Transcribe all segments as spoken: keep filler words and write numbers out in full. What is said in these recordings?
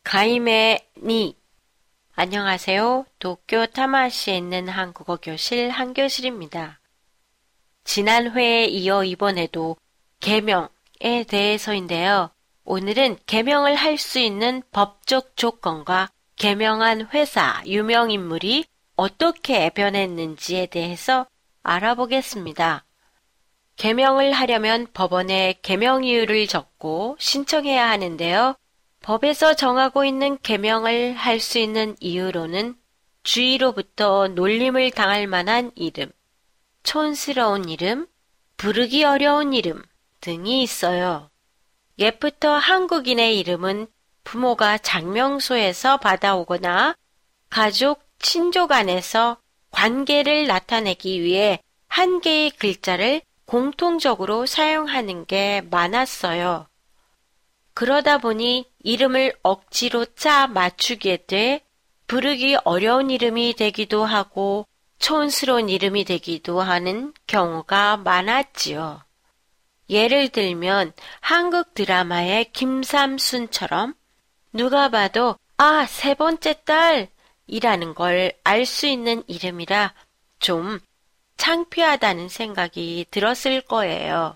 가이메니. 안녕하세요. 도쿄 타마시에 있는 한국어 교실 한교실입니다. 지난 회에 이어 이번에도 개명에 대해서인데요. 오늘은 개명을 할 수 있는 법적 조건과 개명한 회사, 유명인물이 어떻게 변했는지에 대해서 알아보겠습니다. 개명을 하려면 법원에 개명 이유를 적고 신청해야 하는데요. 법에서 정하고 있는 개명을 할 수 있는 이유로는 주위로부터 놀림을 당할 만한 이름, 촌스러운 이름, 부르기 어려운 이름 등이 있어요. 옛부터 한국인의 이름은 부모가 장명소에서 받아오거나 가족, 친족 안에서 관계를 나타내기 위해 한 개의 글자를 공통적으로 사용하는 게 많았어요. 그러다 보니 이름을 억지로 짜 맞추게 돼 부르기 어려운 이름이 되기도 하고 촌스러운 이름이 되기도 하는 경우가 많았지요. 예를 들면 한국 드라마의 김삼순처럼 누가 봐도 아, 세 번째 딸이라는 걸 알 수 있는 이름이라 좀 창피하다는 생각이 들었을 거예요.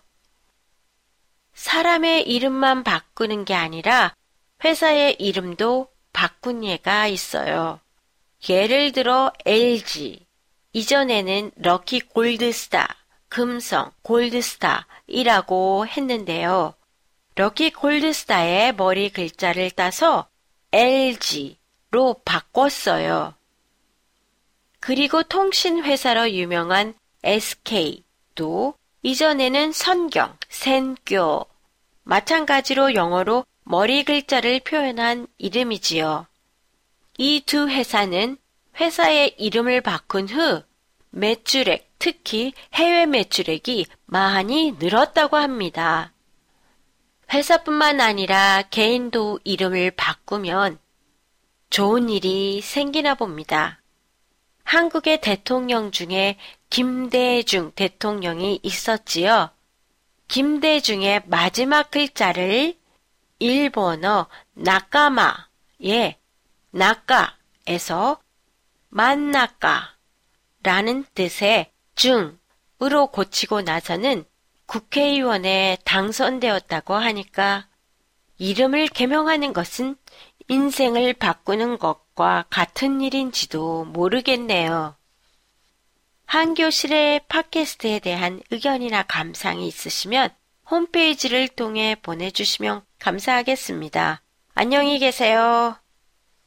사람의 이름만 바꾸는 게 아니라 회사의 이름도 바꾼 예가 있어요. 예를 들어 엘지, 이전에는 럭키 골드스타, 금성 골드스타이라고 했는데요. 럭키 골드스타의 머리 글자를 따서 엘지로 바꿨어요. 그리고 통신회사로 유명한 에스케이도 이전에는 선경, 센교, 마찬가지로 영어로 머리 글자를 표현한 이름이지요. 이 두 회사는 회사의 이름을 바꾼 후 매출액, 특히 해외 매출액이 많이 늘었다고 합니다. 회사뿐만 아니라 개인도 이름을 바꾸면 좋은 일이 생기나 봅니다. 한국의 대통령 중에 김대중 대통령이 있었지요. 김대중의 마지막 글자를 일본어 나카마의 나카에서 만나카라는 뜻의 중으로 고치고 나서는 국회의원에 당선되었다고 하니까 이름을 개명하는 것은 인생을 바꾸는 것과 같은 일인지도 모르겠네요. 한교실의 팟캐스트에 대한 의견이나 감상이 있으시면 홈페이지를 통해 보내주시면 감사하겠습니다. 안녕히 계세요.